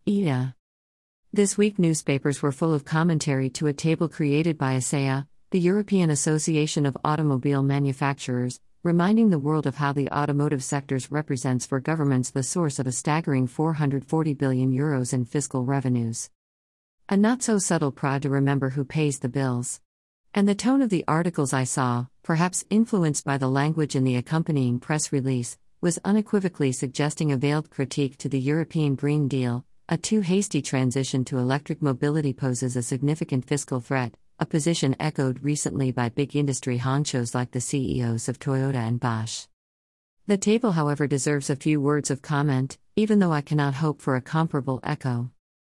EDA. This week newspapers were full of commentary to a table created by ACEA, the European Association of Automobile Manufacturers, reminding the world of how the automotive sector represents for governments the source of a staggering €440 billion in fiscal revenues. A not-so-subtle prod to remember who pays the bills. And the tone of the articles I saw, perhaps influenced by the language in the accompanying press release, was unequivocally suggesting a veiled critique to the European Green Deal. A too hasty transition to electric mobility poses a significant fiscal threat, a position echoed recently by big industry honchos like the CEOs of Toyota and Bosch. The table, however, deserves a few words of comment, even though I cannot hope for a comparable echo.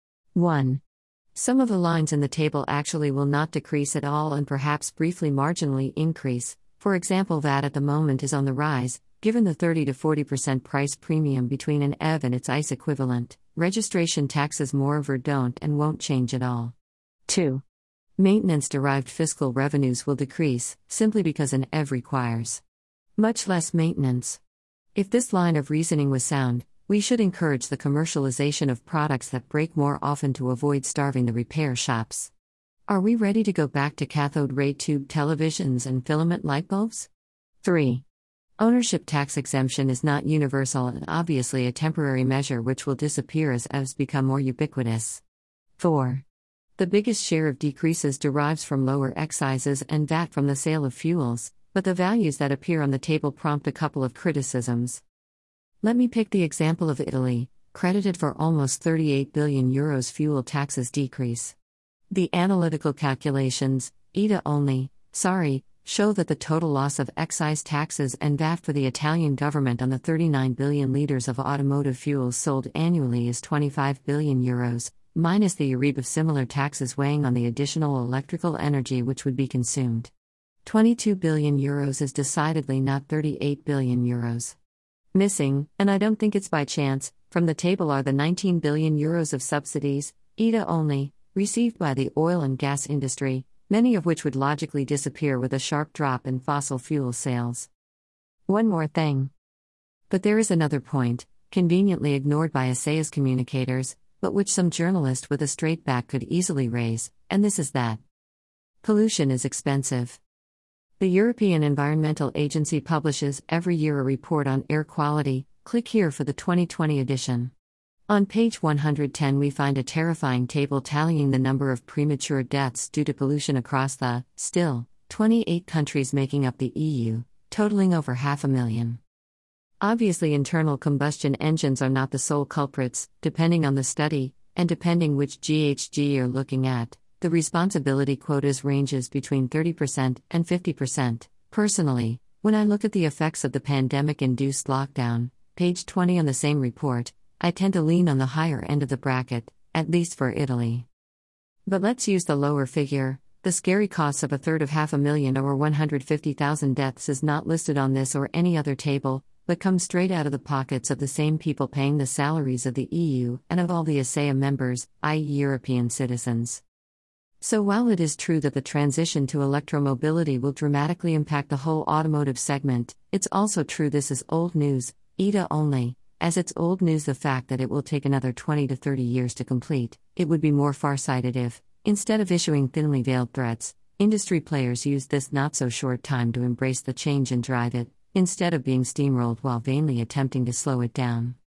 1. Some of the lines in the table actually will not decrease at all and perhaps briefly marginally increase. For example, VAT at the moment is on the rise, given the 30 to 40% price premium between an EV and its ICE equivalent. Registration taxes moreover don't and won't change at all. 2. Maintenance-derived fiscal revenues will decrease, simply because an EV requires much less maintenance. If this line of reasoning was sound, we should encourage the commercialization of products that break more often to avoid starving the repair shops. Are we ready to go back to cathode ray tube televisions and filament light bulbs? 3. Ownership tax exemption is not universal and obviously a temporary measure which will disappear as EVs become more ubiquitous. 4. The biggest share of decreases derives from lower excises and VAT from the sale of fuels, but the values that appear on the table prompt a couple of criticisms. Let me pick the example of Italy, credited for almost €38 billion fuel taxes decrease. The analytical calculations, EDA only, show that the total loss of excise taxes and VAT for the Italian government on the 39 billion litres of automotive fuels sold annually is €25 billion, minus the EURIB of similar taxes weighing on the additional electrical energy which would be consumed. €22 billion is decidedly not €38 billion. Missing, and I don't think it's by chance, from the table are the €19 billion of subsidies, EDA only, received by the oil and gas industry, many of which would logically disappear with a sharp drop in fossil fuel sales. One more thing. But there is another point, conveniently ignored by ACEA's communicators, but which some journalist with a straight back could easily raise, and this is that pollution is expensive. The European Environmental Agency publishes every year a report on air quality. Click here for the 2020 edition. On page 110 we find a terrifying table tallying the number of premature deaths due to pollution across the, still, 28 countries making up the EU, totaling over 500,000. Obviously internal combustion engines are not the sole culprits, depending on the study, and depending which GHG you're looking at, the responsibility quotas ranges between 30% and 50%. Personally, when I look at the effects of the pandemic-induced lockdown, page 20 on the same report, I tend to lean on the higher end of the bracket, at least for Italy. But let's use the lower figure. The scary costs of 500,000 or 150,000 deaths is not listed on this or any other table, but comes straight out of the pockets of the same people paying the salaries of the EU and of all the ACEA members, i.e. European citizens. So while it is true that the transition to electromobility will dramatically impact the whole automotive segment, it's also true this is old news, EDA only. As it's old news the fact that it will take another 20 to 30 years to complete. It would be more far-sighted if, instead of issuing thinly veiled threats, industry players used this not-so-short time to embrace the change and drive it, instead of being steamrolled while vainly attempting to slow it down.